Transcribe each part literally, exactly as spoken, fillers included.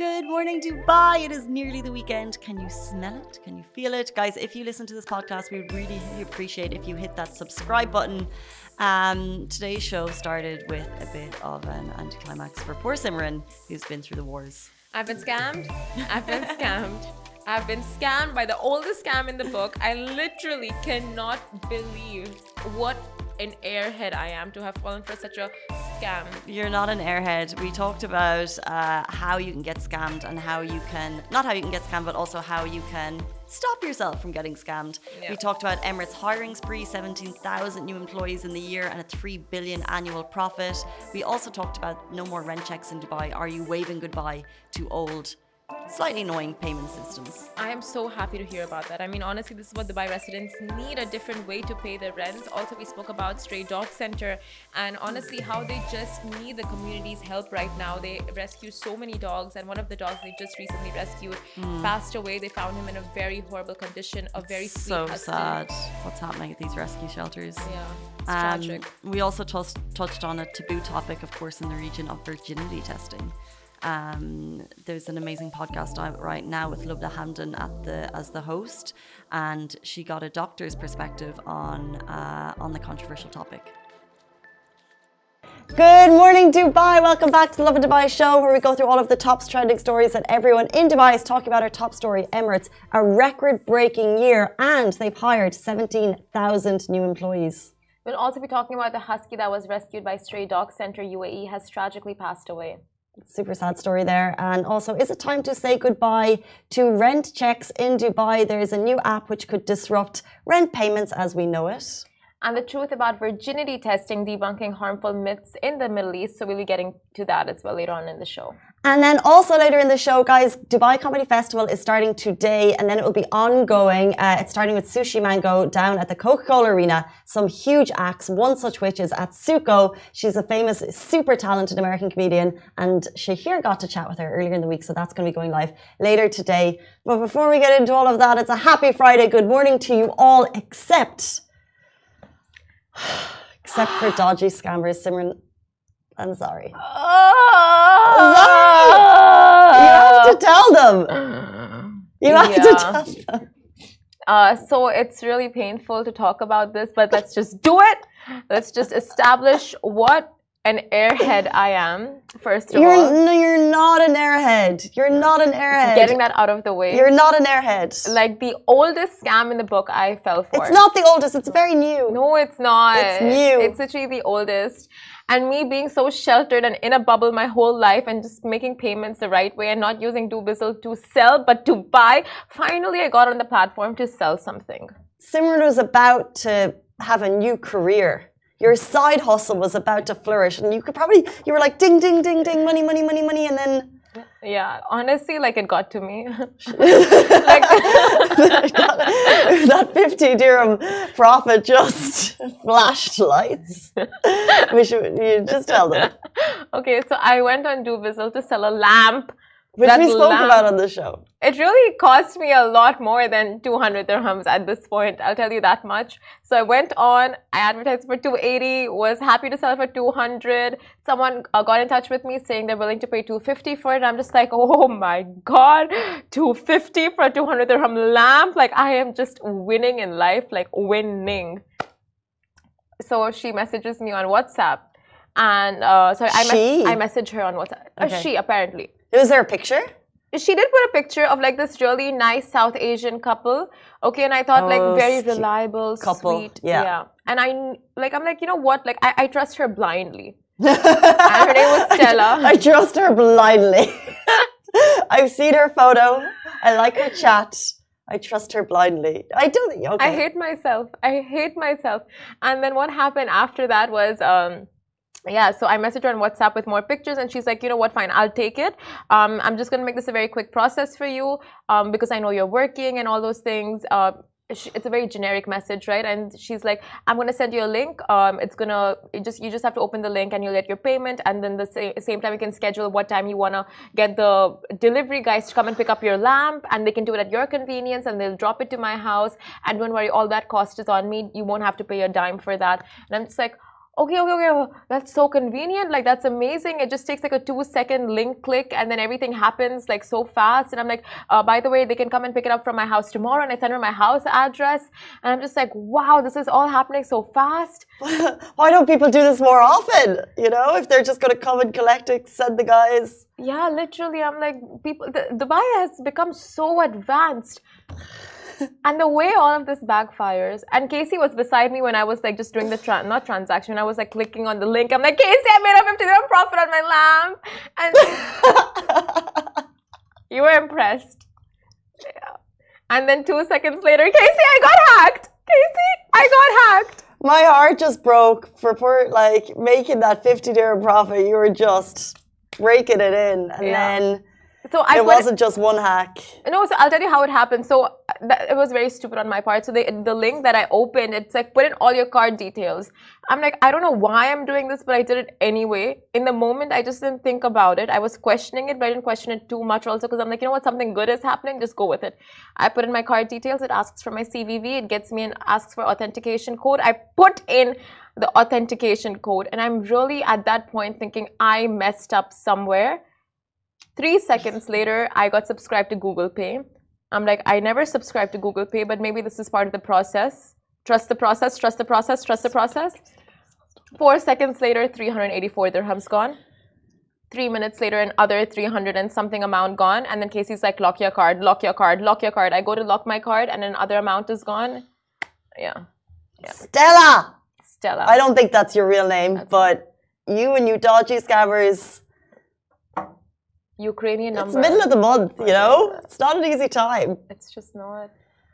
Good morning, Dubai. It is nearly the weekend. Can you smell it? Can you feel it? Guys, if you listen to this podcast, we would really appreciate if you hit that subscribe button. Um, today's show started with a bit of an anticlimax for poor Simran, who's been through the wars. I've been scammed. I've been scammed. I've been scammed by the oldest scam in the book. I literally cannot believe what an airhead I am to have fallen for such a scam. You're not an airhead. We talked about uh, how you can get scammed and how you can, not how you can get scammed, but also how you can stop yourself from getting scammed. Yeah. We talked about Emirates hiring spree, seventeen thousand new employees in the year and a three billion annual profit. We also talked about no more rent checks in Dubai. Are you waving goodbye to old, slightly annoying payment systems? I am so happy to hear about that. I mean, honestly, this is what Dubai residents need, a different way to pay their rents. Also, we spoke about Stray Dog Center and honestly how they just need the community's help right now. They rescue so many dogs, and one of the dogs they just recently rescued mm. passed away. They found him in a very horrible condition, a very it's sweet so husky. sad what's happening at these rescue shelters. Yeah, it's um, tragic. We also t- touched on a taboo topic, of course, in the region of virginity testing. Um, there's an amazing podcast out right now with Lubna Hamdan at the as the host, and she got a doctor's perspective on uh, on the controversial topic. Good morning, Dubai. Welcome back to the Love in Dubai show, where we go through all of the top trending stories that everyone in Dubai is talking about. Our top story: Emirates, a record-breaking year, and they've hired seventeen thousand new employees. We'll also be talking about the husky that was rescued by Stray Dog Center U A E has tragically passed away. Super sad story there. And also, is it time to say goodbye to rent checks in Dubai? There is a new app which could disrupt rent payments as we know it. And the truth about virginity testing, debunking harmful myths in the Middle East. So we'll be getting to that as well later on in the show. And then also later in the show, guys, Dubai Comedy Festival is starting today, and then it will be ongoing. Uh, it's starting with Sushi Mango down at the Coca-Cola Arena. Some huge acts, one such which is at Suko. She's a famous, super talented American comedian, and Shahir got to chat with her earlier in the week, so that's going to be going live later today. But before we get into all of that, it's a happy Friday. Good morning to you all, except, except for dodgy scammers. Simran, I'm sorry. Oh, sorry. You have to tell them. You have yeah. to tell them. Uh, so it's really painful to talk about this, but let's just do it. Let's just establish what an airhead I am, first of you're, all. No, you're not an airhead. You're not an airhead. Getting that out of the way. You're not an airhead. Like the oldest scam in the book I fell for. It's not the oldest. It's very new. No, it's not. It's new. It's literally the oldest. And me being so sheltered and in a bubble my whole life and just making payments the right way and not using Dubizzle to sell but to buy, finally I got on the platform to sell something. Simran was about to have a new career. Your side hustle was about to flourish, and you could probably, you were like ding, ding, ding, ding, money, money, money, money, and then... Yeah, honestly, like it got to me. Like, that fifty dirham profit just flashed lights. We should, you just tell them. Okay, so I went on Dubizzle to sell a lamp. Which that we spoke lamp, about on the show. It really cost me a lot more than two hundred dirhams at this point. I'll tell you that much. So I went on, I advertised for two eighty, was happy to sell for two hundred. Someone uh, got in touch with me saying they're willing to pay two fifty for it. I'm just like, oh my God, two fifty for a two hundred dirham lamp? Like I am just winning in life, like winning. So she messages me on WhatsApp. And uh, sorry, I, mes- I messaged her on WhatsApp. Okay. Uh, she, apparently. Was there a picture? She did put a picture of like this really nice South Asian couple. Okay, and I thought oh, like very reliable, couple. Sweet. Yeah. yeah. And I like I'm like, you know what? Like I, I trust her blindly. And her name was Stella. I trust her blindly. I've seen her photo. I like her chat. I trust her blindly. I don't think okay. I hate myself. I hate myself. And then what happened after that was um yeah, so I messaged her on WhatsApp with more pictures, and she's like, you know what, fine, I'll take it. Um, I'm just going to make this a very quick process for you um, because I know you're working and all those things. Uh, it's a very generic message, right? And she's like, I'm going to send you a link. Um, it's going to, it just you just have to open the link and you'll get your payment. And then the sa- same time, you can schedule what time you want to get the delivery guys to come and pick up your lamp. And they can do it at your convenience and they'll drop it to my house. And don't worry, all that cost is on me. You won't have to pay a dime for that. And I'm just like, okay, okay, okay, that's so convenient. Like, that's amazing. It just takes like a two second link click and then everything happens like so fast. And I'm like, uh, by the way, they can come and pick it up from my house tomorrow. And I send her my house address. And I'm just like, wow, this is all happening so fast. Why don't people do this more often? You know, if they're just going to come and collect it, send the guys. Yeah, literally. I'm like, people, the, Dubai has become so advanced. And the way all of this backfires, and Casey was beside me when I was like just doing the tra- not transaction. I was like clicking on the link. I'm like, Casey, I made a fifty dirham profit on my lamp, and you were impressed. Yeah. And then two seconds later, Casey, I got hacked. Casey, I got hacked. My heart just broke for poor, like making that fifty dirham profit. You were just breaking it in, and yeah. then. So I it wasn't just one hack. No, so I'll tell you how it happened. So that, it was very stupid on my part. So the, the link that I opened, it's like put in all your card details. I'm like, I don't know why I'm doing this, but I did it anyway. In the moment, I just didn't think about it. I was questioning it, but I didn't question it too much also because I'm like, you know what, something good is happening, just go with it. I put in my card details. It asks for my C V V. It gets me and asks for authentication code. I put in the authentication code, and I'm really at that point thinking I messed up somewhere. Three seconds later, I got subscribed to Google Pay. I'm like, I never subscribed to Google Pay, but maybe this is part of the process. Trust the process, trust the process, trust the process. Four seconds later, three hundred eighty-four dirhams gone. Three minutes later, another three hundred and something amount gone. And then Casey's like, lock your card, lock your card, lock your card. I go to lock my card and another amount is gone. Yeah. yeah. Stella! Stella. I don't think that's your real name, that's but it. You and you dodgy scammers. Ukrainian number. It's middle of the month, you know? It's not an easy time. It's just not.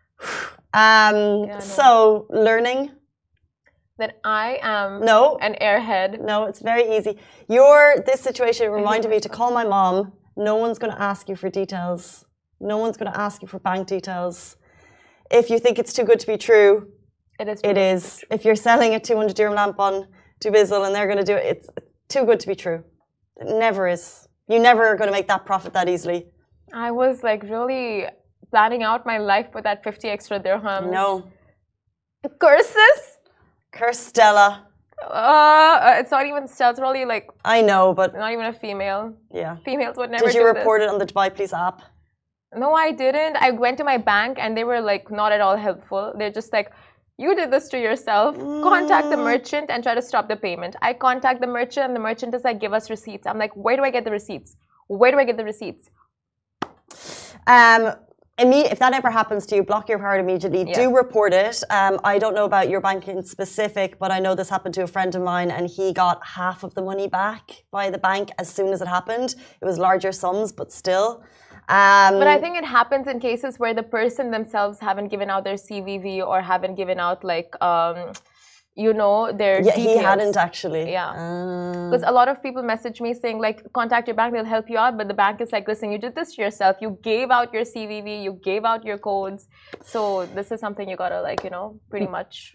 Um, yeah, so, learning? That I am no. an airhead. No, it's very easy. Your, this situation reminded me to call my mom. No one's going to ask you for details. No one's going to ask you for bank details. If you think it's too good to be true, it is. It is. If you're selling a two hundred dirham lamp on Dubizzle and they're going to do it, it's too good to be true. It never is. You never are going to make that profit that easily. I was like really planning out my life for that fifty extra dirhams. No. Curses? Curse Stella. Uh, it's not even Stella. It's probably like... I know, but... Not even a female. Yeah. Females would never do this. Did you report this. it on the Dubai Police app? No, I didn't. I went to my bank and they were like not at all helpful. They're just like, you did this to yourself. Mm. Contact the merchant and try to stop the payment. I contact the merchant and the merchant is like, give us receipts. I'm like, where do I get the receipts? Where do I get the receipts? Um, if that ever happens to you, block your card immediately. Yes. Do report it. Um, I don't know about your bank in specific, but I know this happened to a friend of mine and he got half of the money back by the bank as soon as it happened. It was larger sums, but still. Um, but I think it happens in cases where the person themselves haven't given out their C V V or haven't given out like, um, you know, their yeah, details. He hadn't actually. Yeah. Because um. a lot of people message me saying like, contact your bank, they'll help you out. But the bank is like, listen, you did this to yourself. You gave out your C V V, you gave out your codes. So this is something you gotta like, you know, pretty much...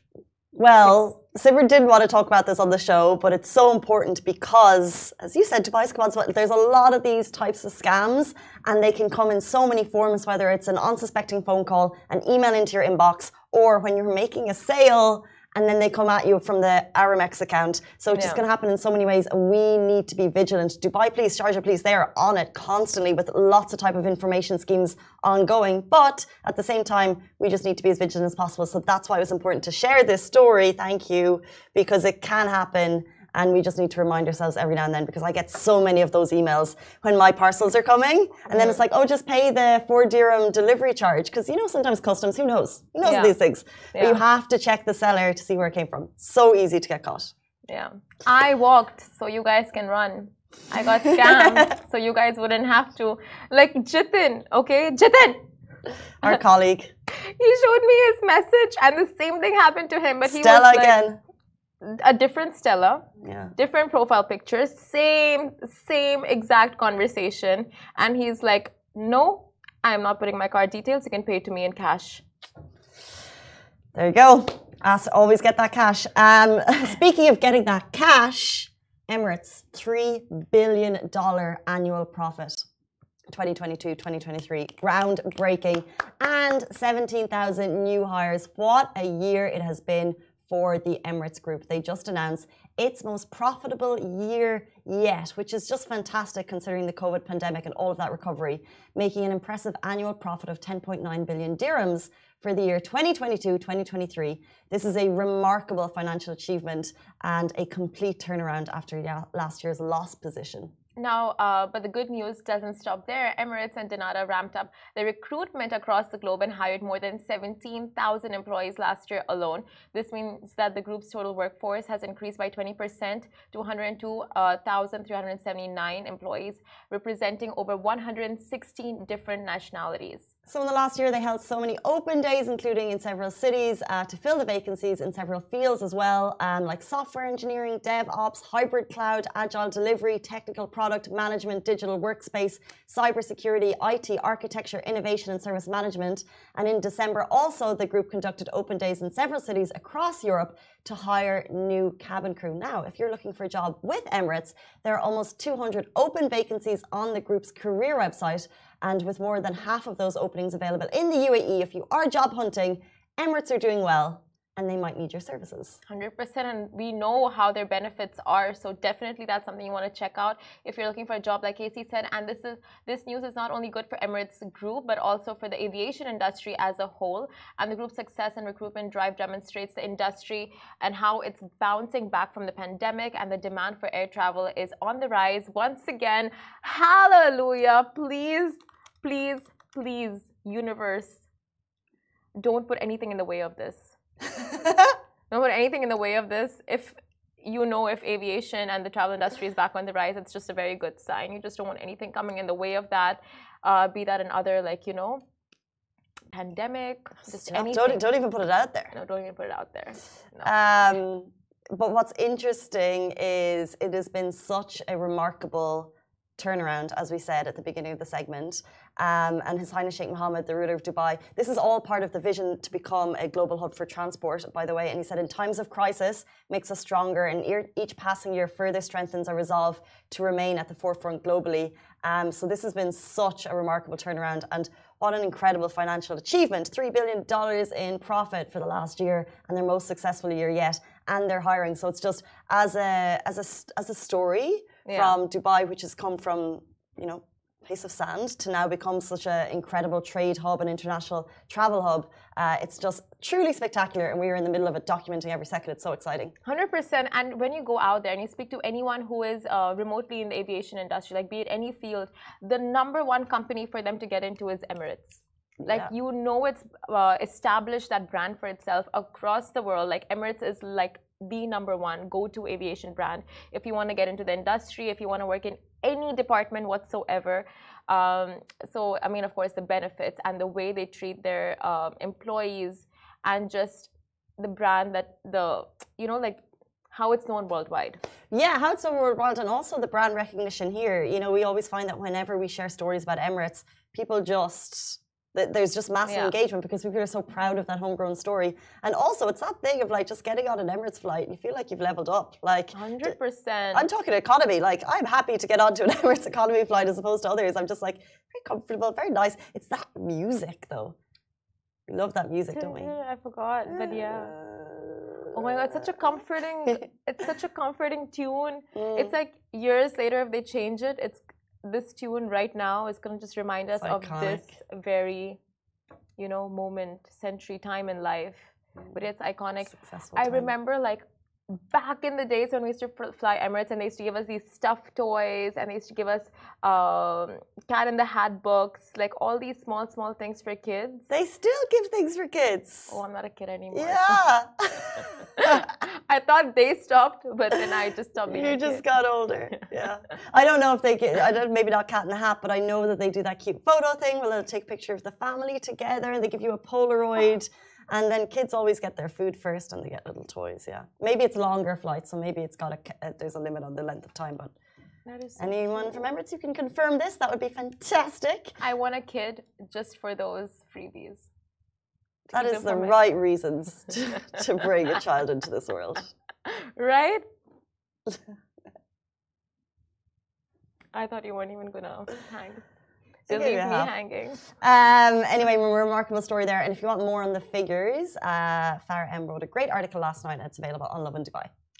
Well, Sibert didn't want to talk about this on the show, but it's so important because, as you said, Dubai's come on, there's a lot of these types of scams and they can come in so many forms, whether it's an unsuspecting phone call, an email into your inbox, or when you're making a sale and then they come at you from the Aramex account. So it's yeah. just going to happen in so many ways and we need to be vigilant. Dubai Police, Sharjah Police, they are on it constantly with lots of type of information schemes ongoing. But at the same time, we just need to be as vigilant as possible. So that's why it was important to share this story. Thank you. Because it can happen. And we just need to remind ourselves every now and then because I get so many of those emails when my parcels are coming. And then it's like, oh, just pay the four dirham delivery charge. Because, you know, sometimes customs, who knows? Who knows yeah. these things? Yeah. But you have to check the seller to see where it came from. So easy to get caught. Yeah. I walked so you guys can run. I got scammed so you guys wouldn't have to. Like Jitin, okay? Jitin! Our colleague. He showed me his message and the same thing happened to him. But he Stella was like, again. A different Stella, yeah. different profile pictures, same, same exact conversation. And he's like, no, I'm not putting my card details. You can pay to me in cash. There you go. As always get that cash. Um, speaking of getting that cash, Emirates, three billion dollars annual profit. twenty twenty-two twenty twenty-three, groundbreaking, and seventeen thousand new hires. What a year it has been for the Emirates Group. They just announced its most profitable year yet, which is just fantastic considering the COVID pandemic and all of that recovery, making an impressive annual profit of ten point nine billion dirhams for the year twenty twenty-two twenty twenty-three. This is a remarkable financial achievement and a complete turnaround after last year's loss position. Now, uh, but the good news doesn't stop there. Emirates and Danata ramped up the recruitment across the globe and hired more than seventeen thousand employees last year alone. This means that the group's total workforce has increased by twenty percent to one hundred two thousand three hundred seventy-nine employees, representing over one hundred sixteen different nationalities. So in the last year, they held so many open days, including in several cities, uh, to fill the vacancies in several fields as well, um, like software engineering, DevOps, hybrid cloud, agile delivery, technical product management, digital workspace, cybersecurity, I T, architecture, innovation, and service management. And in December, also, the group conducted open days in several cities across Europe to hire new cabin crew. Now, if you're looking for a job with Emirates, there are almost two hundred open vacancies on the group's career website. And with more than half of those openings available in the U A E, if you are job hunting, Emirates are doing well and they might need your services. one hundred percent, and we know how their benefits are, so definitely that's something you want to check out if you're looking for a job, like Casey said. And this is this news is not only good for Emirates Group, but also for the aviation industry as a whole. And the group's success and recruitment drive demonstrates the industry and how it's bouncing back from the pandemic, and the demand for air travel is on the rise once again. Hallelujah. Please, please, please, universe, don't put anything in the way of this. Don't put anything in the way of this. If you know if aviation and the travel industry is back on the rise, it's just a very good sign. You just don't want anything coming in the way of that, uh, be that another, like, you know, pandemic, just Stop. anything. Don't, don't even put it out there. No, don't even put it out there. No. Um, but what's interesting is it has been such a remarkable turnaround, as we said at the beginning of the segment. Um, and His Highness Sheikh Mohammed, the ruler of Dubai, this is all part of the vision to become a global hub for transport, by the way. And he said, in times of crisis, makes us stronger, and each passing year further strengthens our resolve to remain at the forefront globally. Um, so this has been such a remarkable turnaround, and what an incredible financial achievement. three billion dollars in profit for the last year, and their most successful year yet. And they're hiring. So it's just as a, as a, as a story yeah. from Dubai, which has come from, you know, place of sand to now become such an incredible trade hub and international travel hub. Uh, it's just truly spectacular, and we are in the middle of it, documenting every second. It's so exciting. one hundred percent. And when you go out there and you speak to anyone who is uh, remotely in the aviation industry, like be it any field, the number one company for them to get into is Emirates. Like, yeah. you know, it's uh, established that brand for itself across the world. Like, Emirates is like the number one go-to aviation brand if you want to get into the industry, if you want to work in any department whatsoever. Um, so, I mean, of course, the benefits and the way they treat their um, employees, and just the brand that the, you know, like how it's known worldwide. Yeah, how it's known worldwide, and also the brand recognition here. You know, we always find that whenever we share stories about Emirates, people just... there's just massive yeah. engagement because people are so proud of that homegrown story. And also, it's that thing of like just getting on an Emirates flight, you feel like you've leveled up. Like one hundred percent. I'm talking economy. Like, I'm happy to get onto an Emirates economy flight as opposed to others. I'm just like very comfortable, very nice. It's that music though. We love that music, don't we? I forgot, but yeah. Oh my God, it's such a comforting. It's such a comforting tune. Mm. It's like years later, if they change it, it's. This tune right now is going to just remind us of this very, you know, moment, century, time in life. But it's iconic. Successful I time. remember, like, back in the days when we used to fly Emirates, and they used to give us these stuffed toys, and they used to give us um, Cat in the Hat books, like all these small, small things for kids. They still give things for kids. Oh, I'm not a kid anymore. Yeah. I thought they stopped, but then I just stopped being You a just kid. got older. Yeah. I don't know if they get, I don't, maybe not Cat in the Hat, but I know that they do that cute photo thing where they'll take a picture of the family together, and they give you a Polaroid. And then kids always get their food first, and they get little toys. Yeah, maybe it's longer flights, so maybe it's got a uh, there's a limit on the length of time. But that is so anyone cool. from Emirates who can confirm this, that would be fantastic. I want a kid just for those freebies. That is the right reasons to, to bring a child into this world, right? I thought you weren't even gonna hang. They leave me hanging. Um, anyway, a remarkable story there. And if you want more on the figures, uh, Farah M wrote a great article last night, and it's available on Love in Dubai.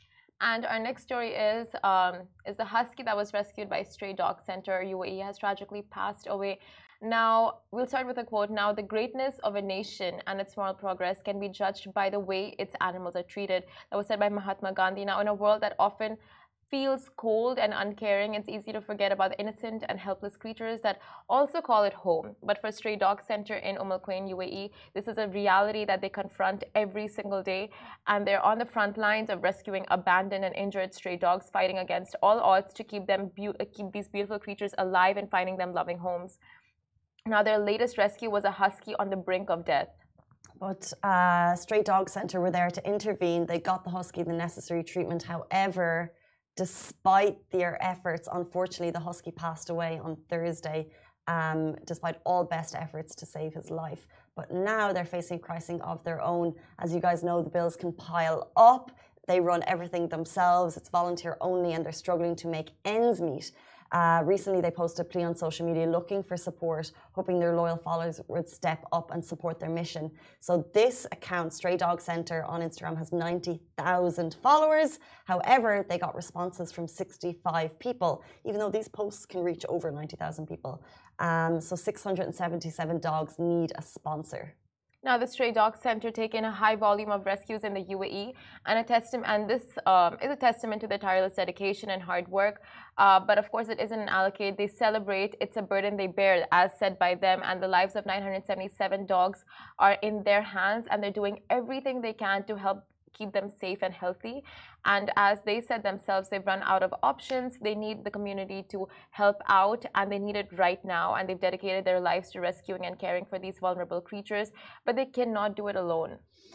And our next story is um, is the husky that was rescued by Stray Dog Center U A E has tragically passed away. Now, we'll start with a quote. Now, the greatness of a nation and its moral progress can be judged by the way its animals are treated. That was said by Mahatma Gandhi. Now, in a world that often feels cold and uncaring, it's easy to forget about the innocent and helpless creatures that also call it home. But for Stray Dog Center in Umm Al Quwain, U A E, this is a reality that they confront every single day, and they're on the front lines of rescuing abandoned and injured stray dogs, fighting against all odds to keep them keep these beautiful creatures alive and finding them loving homes. Now, their latest rescue was a husky on the brink of death. But uh, Stray Dog Center were there to intervene. They got the husky the necessary treatment. However, despite their efforts, unfortunately, the husky passed away on Thursday, um, despite all best efforts to save his life. But now they're facing crisis of their own. As you guys know, the bills can pile up. They run everything themselves. It's volunteer only, and they're struggling to make ends meet. Uh, recently, they posted a plea on social media looking for support, hoping their loyal followers would step up and support their mission. So this account, Stray Dog Center on Instagram, has ninety thousand followers. However, they got responses from sixty-five people, even though these posts can reach over ninety thousand people. Um, so six hundred seventy-seven dogs need a sponsor. Now, the Stray Dog Center take in a high volume of rescues in the U A E, and a testament. And this um, is a testament to their tireless dedication and hard work. Uh, but of course, it isn't an allocate. They celebrate. It's a burden they bear, as said by them. And the lives of nine hundred seventy-seven dogs are in their hands, and they're doing everything they can to help keep them safe and healthy. And as they said themselves, they've run out of options. They need the community to help out, and they need it right now. And they've dedicated their lives to rescuing and caring for these vulnerable creatures, but they cannot do it alone.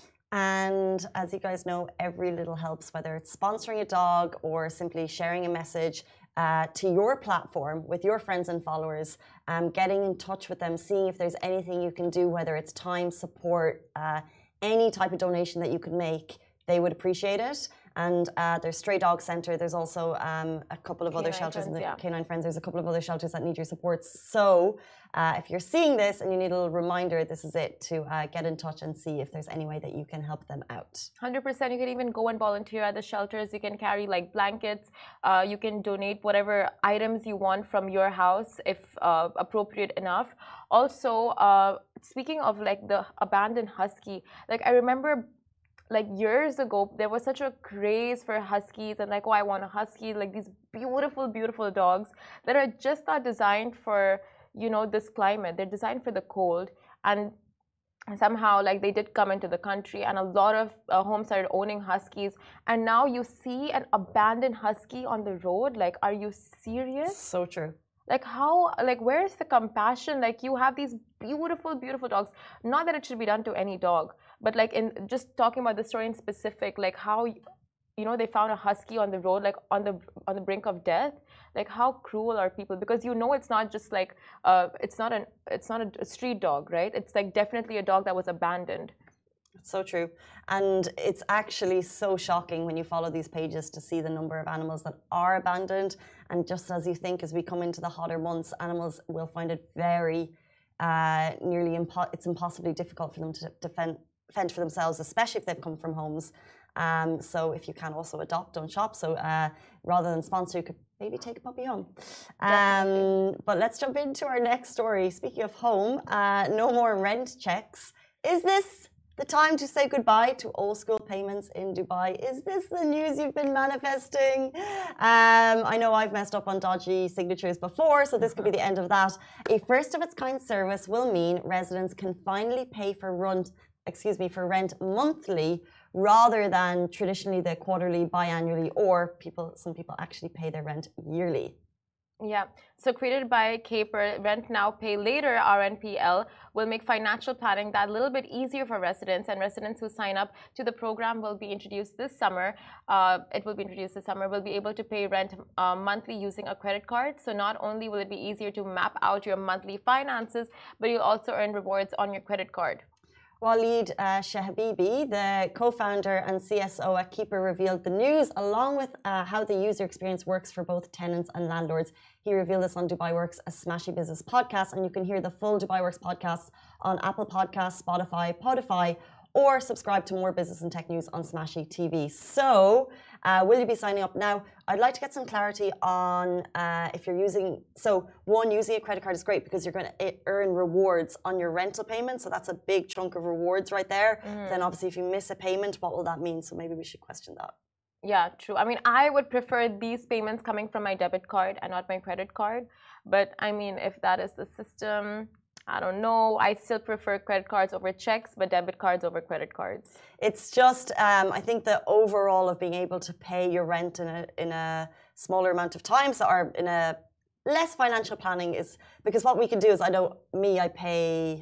And as you guys know, every little helps, whether it's sponsoring a dog or simply sharing a message uh, to your platform with your friends and followers, um, getting in touch with them, seeing if there's anything you can do, whether it's time, support, uh, any type of donation that you could make. They would appreciate it. And uh, there's Stray Dog Center. There's also um, a couple of Canine other shelters Friends, in the yeah. Canine Friends. There's a couple of other shelters that need your support. So uh, if you're seeing this and you need a little reminder, this is it, to uh, get in touch and see if there's any way that you can help them out. one hundred percent. You can even go and volunteer at the shelters. You can carry like blankets. Uh, you can donate whatever items you want from your house if uh, appropriate enough. Also, uh, speaking of like the abandoned husky, like I remember like years ago, there was such a craze for huskies and like, oh, I want a husky, like these beautiful, beautiful dogs that are just not designed for, you know, this climate. They're designed for the cold. And somehow like they did come into the country, and a lot of uh, homes started owning huskies, and now you see an abandoned husky on the road. Like, are you serious? So true. Like how, like where's the compassion? Like you have these beautiful, beautiful dogs. Not that it should be done to any dog, but like in just talking about the story in specific, like how, you know, they found a husky on the road, like on the on the brink of death. Like how cruel are people? Because you know it's not just like uh, it's not an it's not a street dog, right? It's like definitely a dog that was abandoned. It's so true. And it's actually so shocking when you follow these pages to see the number of animals that are abandoned. And just as you think, as we come into the hotter months, animals will find it very uh, nearly impo- it's impossibly difficult for them to defend, fend for themselves, especially if they've come from homes. Um, so if you can also adopt, don't shop. So uh, rather than sponsor, you could maybe take a puppy home. Um, but let's jump into our next story. Speaking of home, uh, no more rent checks. Is this the time to say goodbye to old school payments in Dubai? Is this the news you've been manifesting? Um, I know I've messed up on dodgy signatures before, so this could be the end of that. A first of its kind service will mean residents can finally pay for rent, excuse me, for rent monthly rather than traditionally the quarterly, biannually, or people, some people actually pay their rent yearly. Yeah, so created by Caper, Rent Now Pay Later, R N P L, will make financial planning that little bit easier for residents, and residents who sign up to the program will be introduced this summer. Uh, it will be introduced this summer, will be able to pay rent uh, monthly using a credit card. So not only will it be easier to map out your monthly finances, but you'll also earn rewards on your credit card. Waleed uh, Shahabibi, the co-founder and C S O at Keeper, revealed the news along with uh, how the user experience works for both tenants and landlords. He revealed this on Dubai Works, a Smashy Business podcast, and you can hear the full Dubai Works podcast on Apple Podcasts, Spotify, Podify, or subscribe to more business and tech news on Smashy T V. So, uh, will you be signing up? Now, I'd like to get some clarity on uh, if you're using, so one, using a credit card is great because you're going to earn rewards on your rental payment. So that's a big chunk of rewards right there. Mm. Then obviously if you miss a payment, what will that mean? So maybe we should question that. Yeah, true. I mean, I would prefer these payments coming from my debit card and not my credit card. But I mean, if that is the system, I don't know. I still prefer credit cards over checks, but debit cards over credit cards. It's just, um, I think the overall of being able to pay your rent in a, in a smaller amount of time, so, or in a less financial planning is, because what we can do is, I know me, I pay...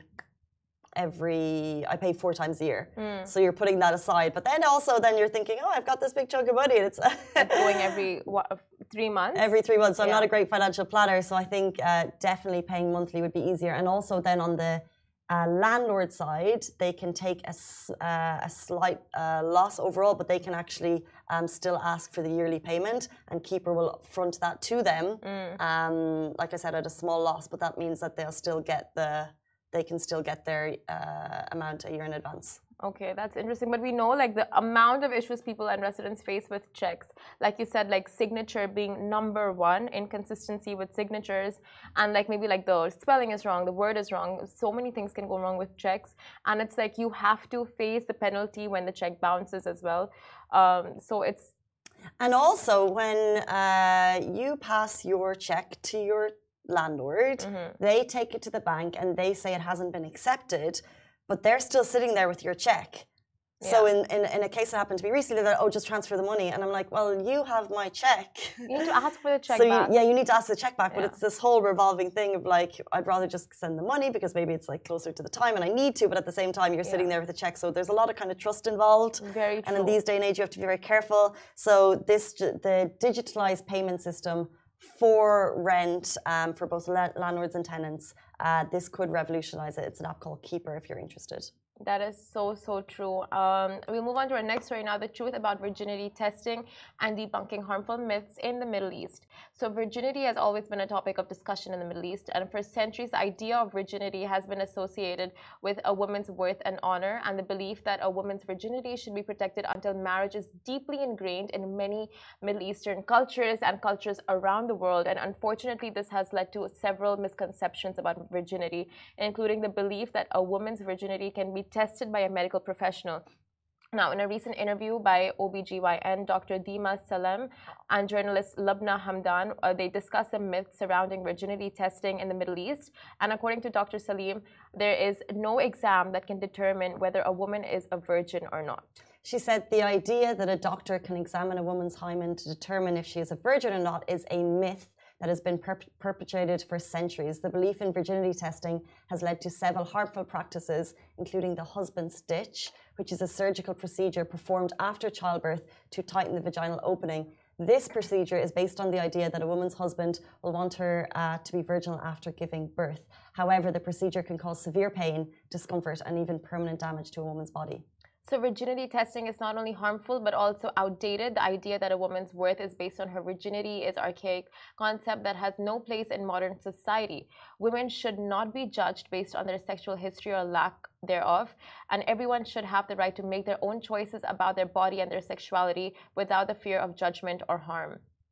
every I pay four times a year, mm. so you're putting that aside. But then also, then you're thinking, oh, I've got this big chunk of money. And it's, it's going every what, three months. Every three months. So yeah. I'm not a great financial planner. So I think uh, definitely paying monthly would be easier. And also then on the uh, landlord side, they can take a, uh, a slight uh, loss overall, but they can actually um, still ask for the yearly payment, and Keeper will front that to them. Mm. Um, like I said, at a small loss, but that means that they'll still get the. They can still get their uh, amount a year in advance. Okay, that's interesting. But we know like the amount of issues people and residents face with checks. Like you said, like signature being number one, inconsistency with signatures, and like maybe like the spelling is wrong, the word is wrong. So many things can go wrong with checks. And it's like you have to face the penalty when the check bounces as well. Um, so it's... And also when uh, you pass your check to your landlord, mm-hmm. they take it to the bank and they say it hasn't been accepted, but they're still sitting there with your check. Yeah. So in, in, in a case that happened to me recently, that oh, just transfer the money, and I'm like, well, you have my check. You need to ask for the check so back. You, yeah, you need to ask the check back, yeah. but it's this whole revolving thing of like, I'd rather just send the money because maybe it's like closer to the time and I need to, but at the same time, you're yeah. sitting there with a check. So there's a lot of kind of trust involved. Very true. And in these day and age, you have to be very careful. So this, the digitalized payment system for rent, um, for both la landlords and tenants, uh, this could revolutionize it. It's an app called Keeper if you're interested. That is so, so true. Um, we move on to our next story now, the truth about virginity testing and debunking harmful myths in the Middle East. So virginity has always been a topic of discussion in the Middle East, and for centuries, the idea of virginity has been associated with a woman's worth and honor, and the belief that a woman's virginity should be protected until marriage is deeply ingrained in many Middle Eastern cultures and cultures around the world. And unfortunately, this has led to several misconceptions about virginity, including the belief that a woman's virginity can be tested by a medical professional. Now, in a recent interview by O B G Y N, Doctor Dima Salem and journalist Lubna Hamdan, uh, they discuss the myths surrounding virginity testing in the Middle East. And according to Doctor Salim, there is no exam that can determine whether a woman is a virgin or not. She said the idea that a doctor can examine a woman's hymen to determine if she is a virgin or not is a myth that has been perp perpetrated for centuries. The belief in virginity testing has led to several harmful practices, including the husband stitch, which is a surgical procedure performed after childbirth to tighten the vaginal opening. This procedure is based on the idea that a woman's husband will want her uh, to be virginal after giving birth. However, the procedure can cause severe pain, discomfort, and even permanent damage to a woman's body. So virginity testing is not only harmful but also outdated. The idea that a woman's worth is based on her virginity is an archaic concept that has no place in modern society. Women should not be judged based on their sexual history or lack thereof, and everyone should have the right to make their own choices about their body and their sexuality without the fear of judgment or harm.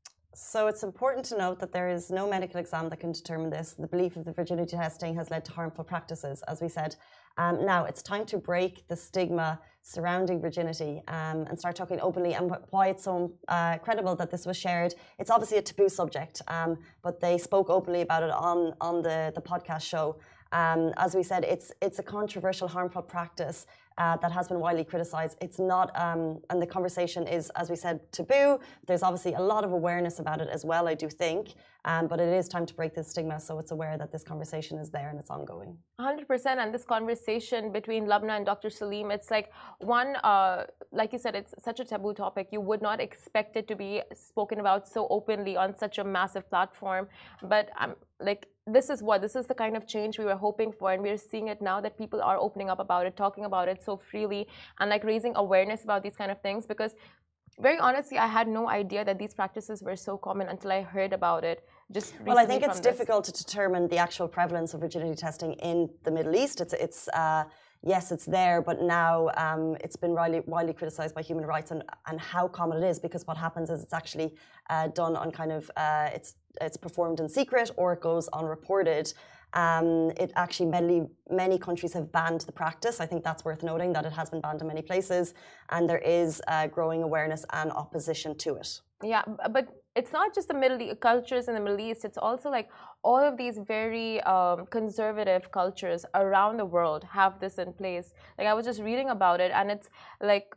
So it's important to note that there is no medical exam that can determine this. The belief of the virginity testing has led to harmful practices, as we said. Um, now it's time to break the stigma surrounding virginity um, and start talking openly, and why it's so uh, credible that this was shared. It's obviously a taboo subject, um, but they spoke openly about it on, on the, the podcast show. Um, as we said, it's, it's a controversial, harmful practice Uh, that has been widely criticized. It's not, um, and the conversation is, as we said, taboo. There's obviously a lot of awareness about it as well, I do think, um, but it is time to break this stigma, so it's aware that this conversation is there and it's ongoing. one hundred percent, and this conversation between Lubna and Doctor Salim, it's like one, uh, like you said, it's such a taboo topic. You would not expect it to be spoken about so openly on such a massive platform, but um, like, this is what, this is the kind of change we were hoping for, and we're seeing it now that people are opening up about it, talking about it so freely, and like raising awareness about these kind of things, because very honestly, I had no idea that these practices were so common until I heard about it. Just well, I think it's difficult to determine the actual prevalence of virginity testing in the Middle East. It's, it's uh, yes, it's there, but now um, it's been widely, widely criticized by human rights and, and how common it is, because what happens is it's actually uh, done on kind of, uh, it's, it's performed in secret or it goes unreported. Um, it actually, many, many countries have banned the practice. I think that's worth noting that it has been banned in many places, and there is uh, growing awareness and opposition to it. Yeah, but it's not just the Middle East, cultures in the Middle East. It's also like all of these very um, conservative cultures around the world have this in place. Like I was just reading about it, and it's like,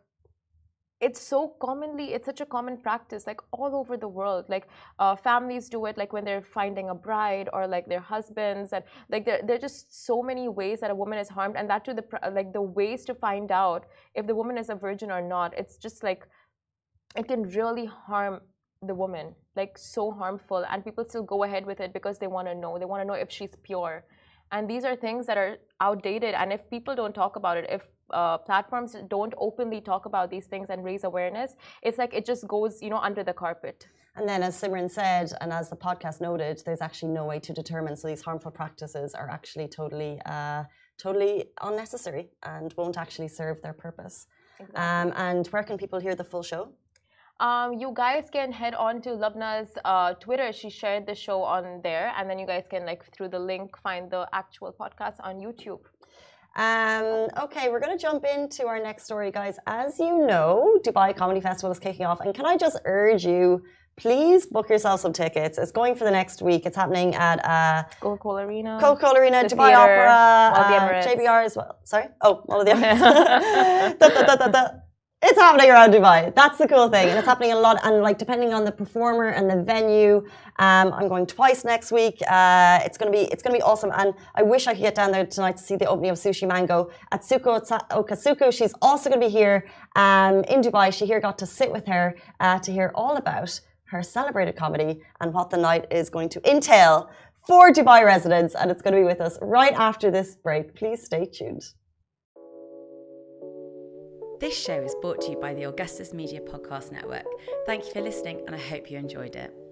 it's so commonly, it's such a common practice, like all over the world. Like uh, families do it, like when they're finding a bride or like their husbands, and like there, there are just so many ways that a woman is harmed, and that too, the like the ways to find out if the woman is a virgin or not. It's just like, it can really harm the woman, like so harmful, and people still go ahead with it because they want to know. They want to know if she's pure, and these are things that are outdated. And if people don't talk about it, if uh, platforms don't openly talk about these things and raise awareness, it's like it just goes, you know, under the carpet. And then, as Simran said, and as the podcast noted, there's actually no way to determine. So these harmful practices are actually totally, uh, totally unnecessary and won't actually serve their purpose. Exactly. Um, and where can people hear the full show? Um, you guys can head on to Lubna's uh, Twitter. She shared the show on there, and then you guys can, like, through the link, find the actual podcast on YouTube. Um, okay, we're going to jump into our next story, guys. As you know, Dubai Comedy Festival is kicking off, and can I just urge you, please book yourself some tickets. It's going for the next week. It's happening at uh, Coca-Cola Arena, Coca-Cola Arena, the Dubai theater, Opera, uh, J B R as well. Sorry? Oh, all of the Emirates. da, da, da, da, da. It's happening around Dubai. That's the cool thing. And it's happening a lot. And like, depending on the performer and the venue, um, I'm going twice next week. Uh, it's going to be, it's going to be awesome. And I wish I could get down there tonight to see the opening of Sushi Mango at Suko Okasuko. She's also going to be here um, in Dubai. She here got to sit with her uh, to hear all about her celebrated comedy and what the night is going to entail for Dubai residents. And it's going to be with us right after this break. Please stay tuned. This show is brought to you by the Augustus Media Podcast Network. Thank you for listening, and I hope you enjoyed it.